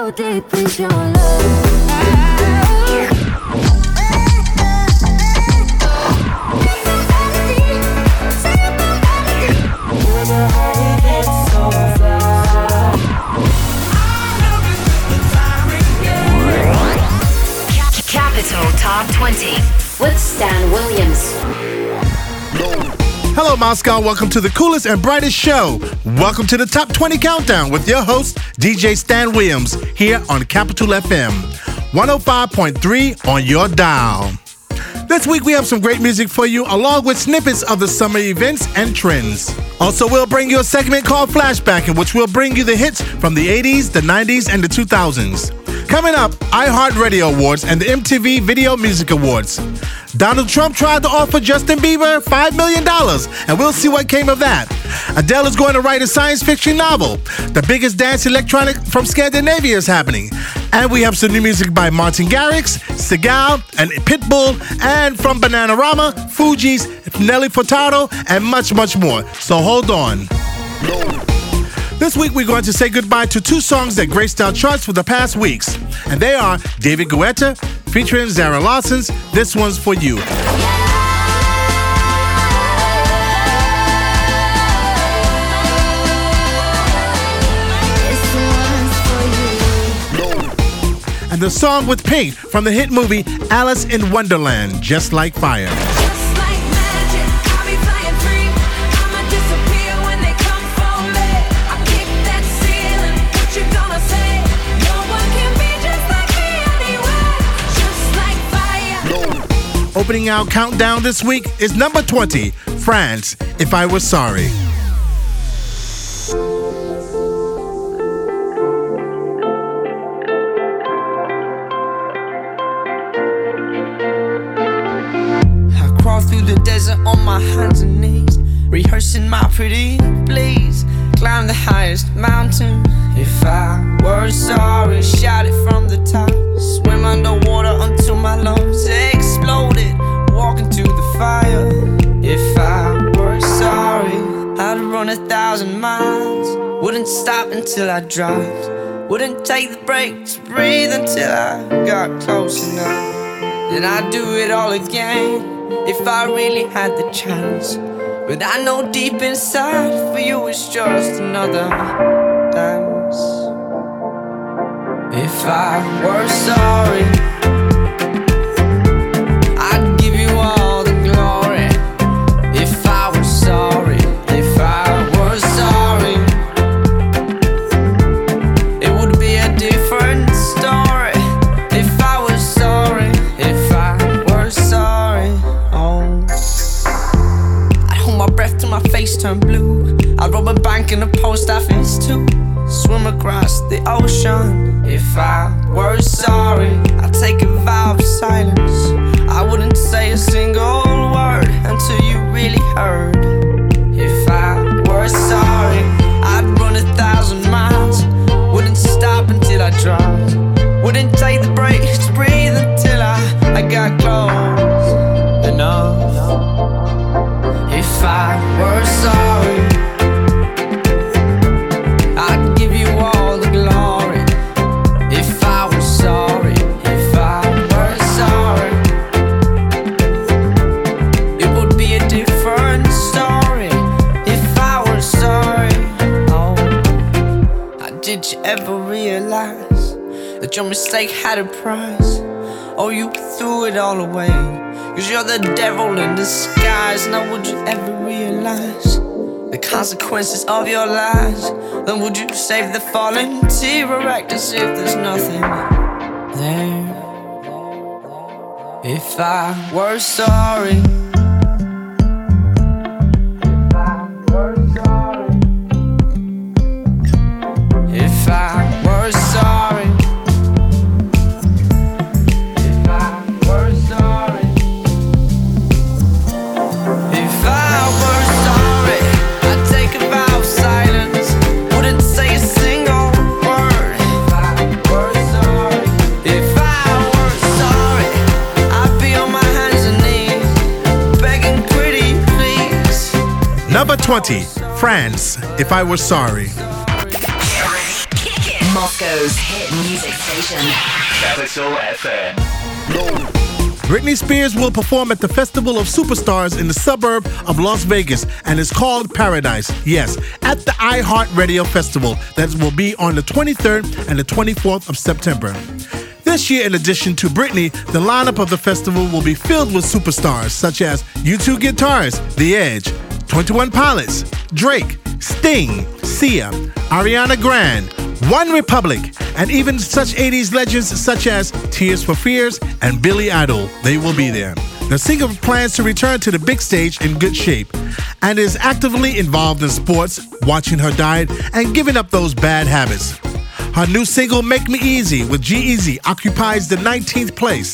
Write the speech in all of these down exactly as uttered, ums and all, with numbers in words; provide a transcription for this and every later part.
How deep is your love? Capital Top twenty with Stan Williams. Hello, Moscow. Welcome to the coolest and brightest show. Welcome to the Top twenty Countdown with your host, D J Stan Williams, here on Capital F M, one oh five point three on your dial. This week we have some great music for you, along with snippets of the summer events and trends. Also, we'll bring you a segment called Flashback, in which we'll bring you the hits from the eighties, the nineties, and the two thousands. Coming up, iHeartRadio Awards and the M T V Video Music Awards. Donald Trump tried to offer Justin Bieber five million dollars, and we'll see what came of that. Adele is going to write a science fiction novel. The biggest dance electronic from Scandinavia is happening. And we have some new music by Martin Garrix, Segal, and Pitbull, and from Bananarama, Fugees, Nelly Furtado, and much, much more. So hold on. This week, we're going to say goodbye to two songs that graced our charts for the past weeks. And they are David Guetta featuring Zara Larson's This One's For You. And the song with Pink from the hit movie Alice in Wonderland, Just Like Fire. Opening our countdown this week is number twenty, France, If I Was Sorry. I crawl through the desert on my hands and knees, rehearsing my pretty please. Climb the highest mountain. If I were sorry, shout it from the top. Swim underwater until my lungs exploded. Walk into the fire. If I were sorry, I'd run a thousand miles. Wouldn't stop until I dropped. Wouldn't take the break to breathe until I got close enough. Then I'd do it all again if I really had the chance. But I know deep inside for you it's just another dance. If I were sorry, I'd give you all the glory. If I were sorry, if I were sorry, it would be a different story. If I was sorry, if I were sorry, oh, I'd hold my breath till my face turned blue. I'd rob a bank in a post office too. Swim across the ocean. If I were sorry, I'd take a vow of silence. I wouldn't say a single word until you really heard. If I were sorry, I'd run a thousand miles. Wouldn't stop until I dropped. Wouldn't take the break to breathe until I, I got close enough. If I were sorry, did you ever realize that your mistake had a price? Or you threw it all away? Cause you're the devil in disguise. Now would you ever realize the consequences of your lies? Then would you save the fallen tear or act as if there's nothing there? If I were sorry, if I were sorry, if I were sorry, if I were sorry, I'd take a vow of silence. Wouldn't say a single word. If I were sorry, if I were sorry, I'd be on my hands and knees, begging pretty please. Number twenty, France, If I Was Sorry. Moscow's hit music station. Capital F M. Britney Spears will perform at the Festival of Superstars in the suburb of Las Vegas, and it's called Paradise. Yes, at the iHeartRadio Festival that will be on the twenty-third and the twenty-fourth of September. This year, in addition to Britney, the lineup of the festival will be filled with superstars such as U two guitarists The Edge, twenty-one Pilots, Drake, Sting, Sia, Ariana Grande, One Republic, and even such eighties legends such as Tears for Fears and Billy Idol. They will be there. The singer plans to return to the big stage in good shape and is actively involved in sports, watching her diet, and giving up those bad habits. Her new single, Make Me Easy, with G-Eazy, occupies the nineteenth place.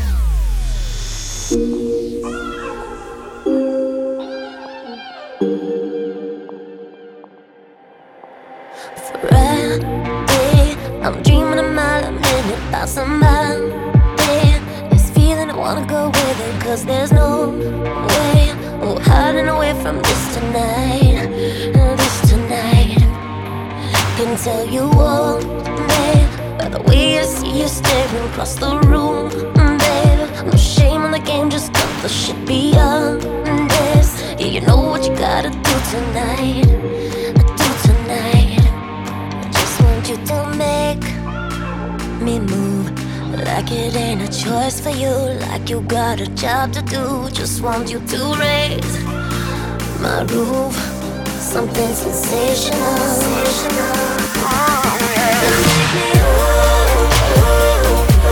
Friday, I'm dreaming a mile a minute about somebody. This feeling I wanna go with it, cause there's no way we're hiding away from this tonight. This tonight. Can tell you all, babe, by the way I see you staring across the room, babe. No shame in the game, just cut the shit beyond this. Yeah, you know what you gotta do tonight. Do tonight. I just want you to make me move like it ain't a choice for you, like you got a job to do. Just want you to raise my roof, something sensational. sensational. Oh, yeah. Make me ooh, ooh,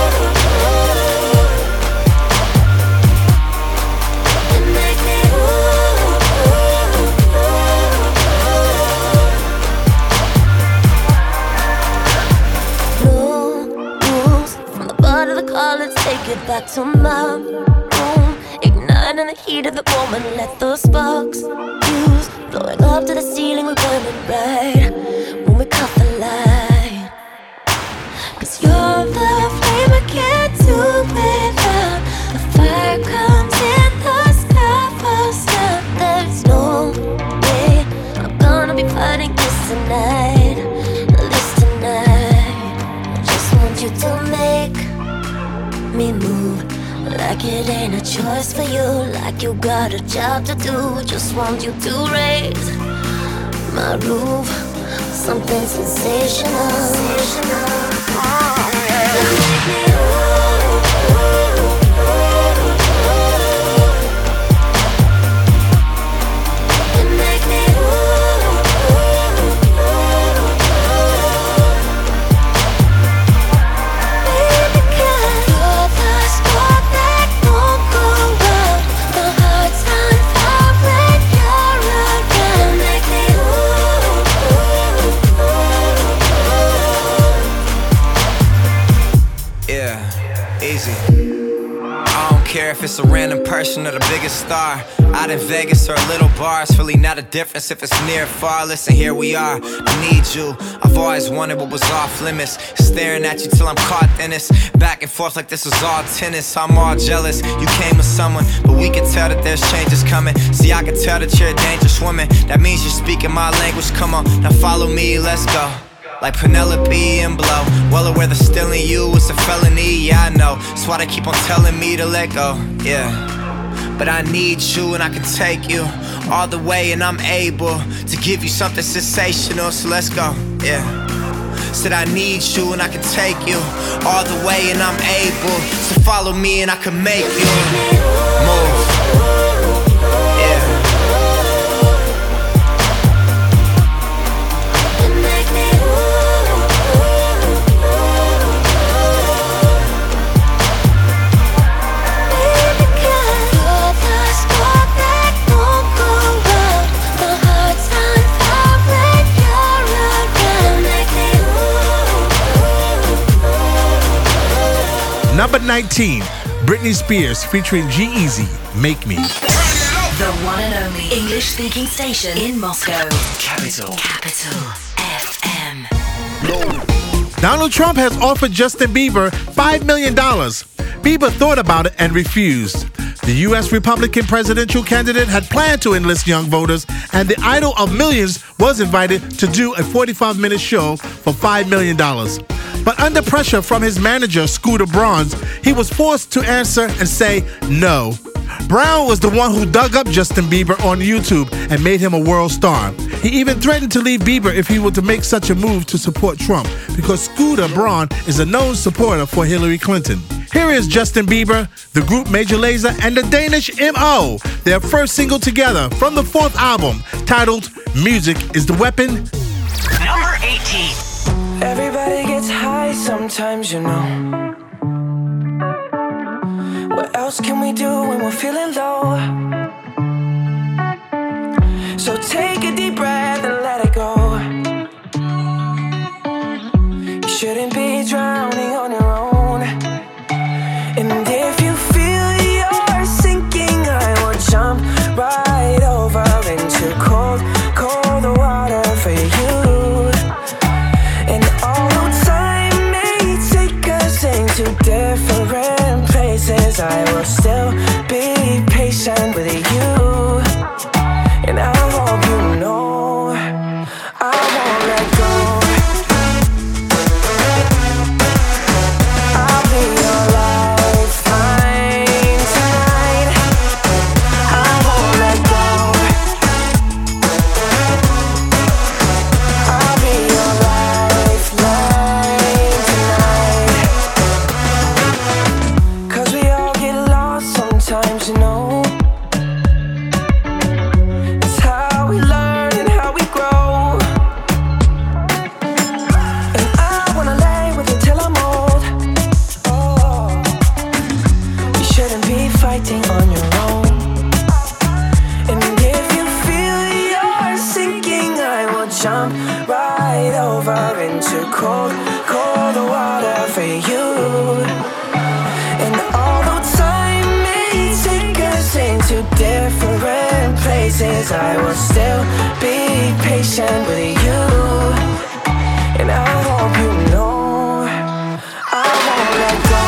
ooh. And make me ooh, ooh, ooh. No rules from the butt of the car. Let's take it back to my room. Ignite in the heat of the moment. Let the sparks fuse. Blowing up to the ceiling, we're burning bright when we caught the light. Cause you're the flame I can't do without. The fire comes in the sky first time. There's no way I'm gonna be fighting this tonight. This tonight. I just want you to make me move like it ain't a choice for you, like you got a job to do. Just want you to raise my roof, something sensational. sensational. Oh, yeah. And make me ooh, ooh, ooh. And make me ooh, ooh, ooh. Baby, cause you're the spark that won't go out. My heart's on fire when you're around. Make me ooh, ooh, ooh. Yeah, easy. I don't care if it's a random person or the biggest star. Out in Vegas or a little bar, it's really not a difference if it's near or far. Listen, here we are, I need you. I've always wondered what was off limits. Staring at you till I'm caught in this. Back and forth like this was all tennis. I'm all jealous, you came with someone, but we can tell that there's changes coming. See, I can tell that you're a dangerous woman. That means you're speaking my language, come on, now follow me, let's go. Like Penelope and Blow. Well aware that stealing you is a felony, yeah I know. That's why they keep on telling me to let go, yeah. But I need you and I can take you all the way, and I'm able to give you something sensational, so let's go, yeah. Said I need you and I can take you all the way, and I'm able. So follow me and I can make you move, yeah. Number nineteen, Britney Spears featuring G-Eazy, Make Me. The one and only English-speaking station in Moscow. Capital. Capital F M. Donald Trump has offered Justin Bieber five million dollars. Bieber thought about it and refused. The U S Republican presidential candidate had planned to enlist young voters, and the idol of millions was invited to do a forty-five minute show for five million dollars. But under pressure from his manager, Scooter Braun, he was forced to answer and say no. Brown was the one who dug up Justin Bieber on YouTube and made him a world star. He even threatened to leave Bieber if he were to make such a move to support Trump, because Scooter Braun is a known supporter for Hillary Clinton. Here is Justin Bieber, the group Major Lazer, and the Danish M O, their first single together from the fourth album, titled Music is the Weapon. Number eighteen. Everybody gets high sometimes, you know. What else can we do when we're feeling low? So take a deep breath and let it go. You shouldn't be drowning on your own. And if you feel you're sinking, I will jump right over into cold, cold water for you. And although time may take us into different places, I will still be patient with you. And I hope you know I won't let go. I'll be your lifeline tonight. I won't let go. I'll be your lifeline tonight. 'Cause we all get lost sometimes, you know. Jump right over into cold, cold water for you. And although time may take us into different places, I will still be patient with you. And I hope you know I won't let go.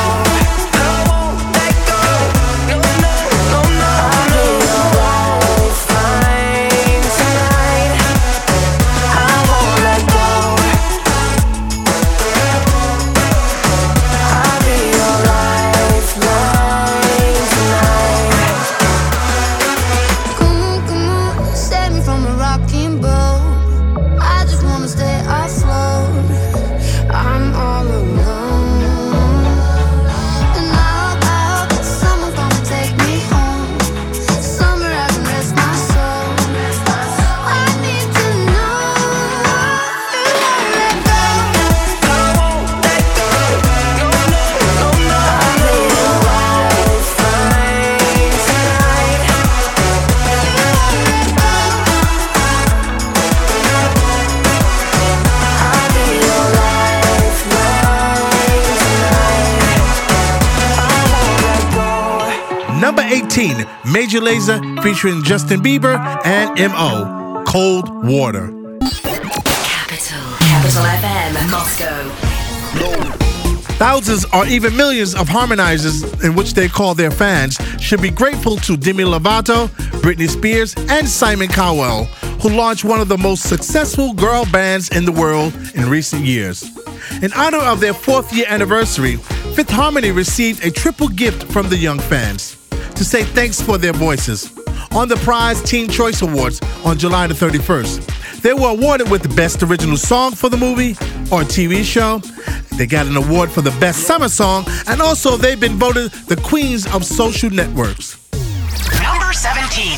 Number eighteen, Major Lazer featuring Justin Bieber and M O, Cold Water. Capital. Capital F M, Moscow. Thousands or even millions of harmonizers, in which they call their fans, should be grateful to Demi Lovato, Britney Spears, and Simon Cowell, who launched one of the most successful girl bands in the world in recent years. In honor of their fourth year anniversary, Fifth Harmony received a triple gift from the young fans to say thanks for their voices. On the Prize Teen Choice Awards on July the thirty-first, they were awarded with the Best Original Song for the movie or T V show. They got an award for the Best Summer Song, and also they've been voted the Queens of Social Networks. Number seventeen.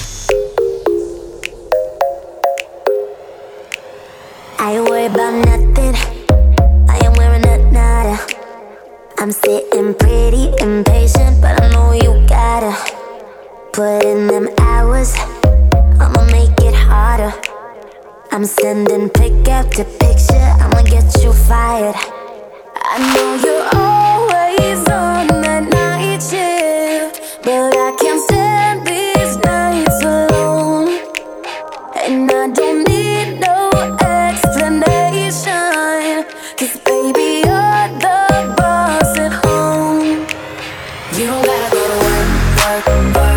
I ain't worried about nothing. I am wearing a nada. I'm sitting pretty impatient, but I know you gotta put in them hours. I'ma make it harder. I'm sending pick after picture. I'ma get you fired. I know you're always on that night shift, but I can't stand these nights alone. And I don't need no explanation, 'cause baby, you're the boss at home. You don't gotta go to work, work, work.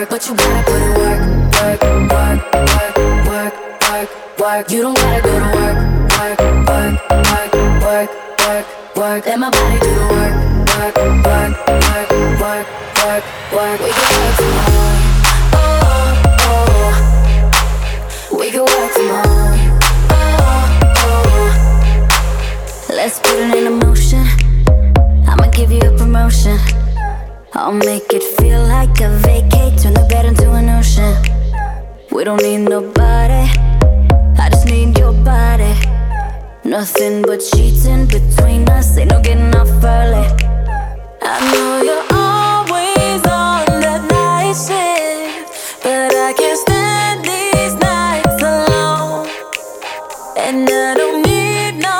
work, but you gotta put in work, work, work, work, work, work, work. You don't gotta go to work, work, work, work, work, work, work. Let my body do the work, work, work, work, work, work, work. We can work from home, oh, oh. We can work from home, oh, oh. Let's put it in motion. I'ma give you a promotion. I'll make it feel like a vacate. Turn the bed into an ocean. We don't need nobody, I just need your body. Nothing but sheets in between us. Ain't no getting off early. I know you're always on that night shift, but I can't stand these nights alone. And I don't need no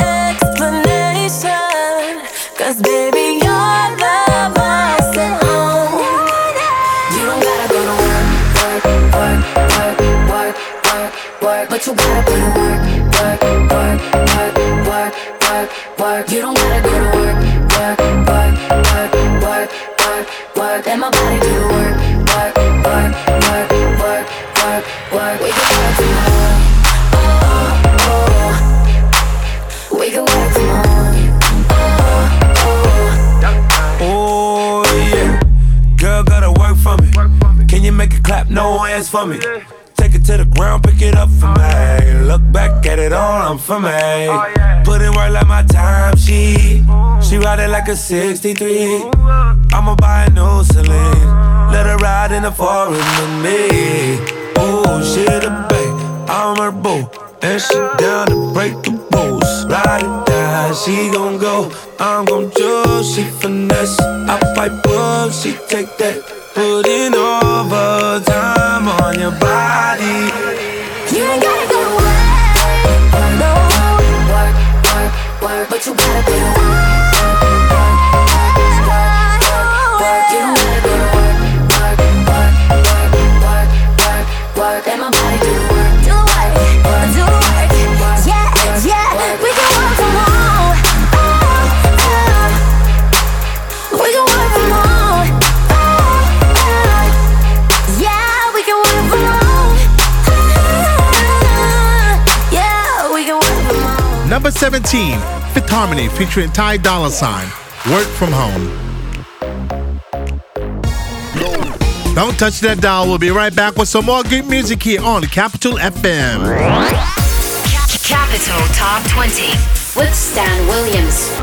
explanation, cause baby you're the boss at home. You don't gotta go to work, work, work, work, work, work, work. But you gotta put in work, work, work, work, work, work, work. You don't gotta go to work, work, work, work, work, work, work. Let my body do the work, work, work, work, work, work, work. We can work from home, oh, oh. We can work from home, oh, oh. Oh yeah, girl gotta work for me. Can you make it clap? No hands for me. Take it to the ground, pick it up for me. Look back at it all, I'm for me. Put in work like my time sheet. She ride it like a sixty-three. I'ma buy a new Celine. Let her ride in the foreign with me. Oh, she the babe, I'm her boo. And she down to break the rules. Ride it down, she gon' go. I'm gon' choose, she finesse. I pipe up, she take that. Put in overtime on your body. You ain't gotta go to work, no. Work, work, work, but you gotta put in work, work, work, work, work. You don't gotta go to work, work, work, work, work, work, work. Let my body do the work, do the work, do the work. Yeah, yeah, we can work from home, oh, oh. We can work from home, oh, oh. Yeah, we can work from home, oh, yeah, we can work from home. Number seventeen, Fifth Harmony featuring Ty Dolla $ign, Work From Home. Don't touch that dial. We'll be right back with some more good music here on Capital F M. Capital Top twenty with Stan Williams.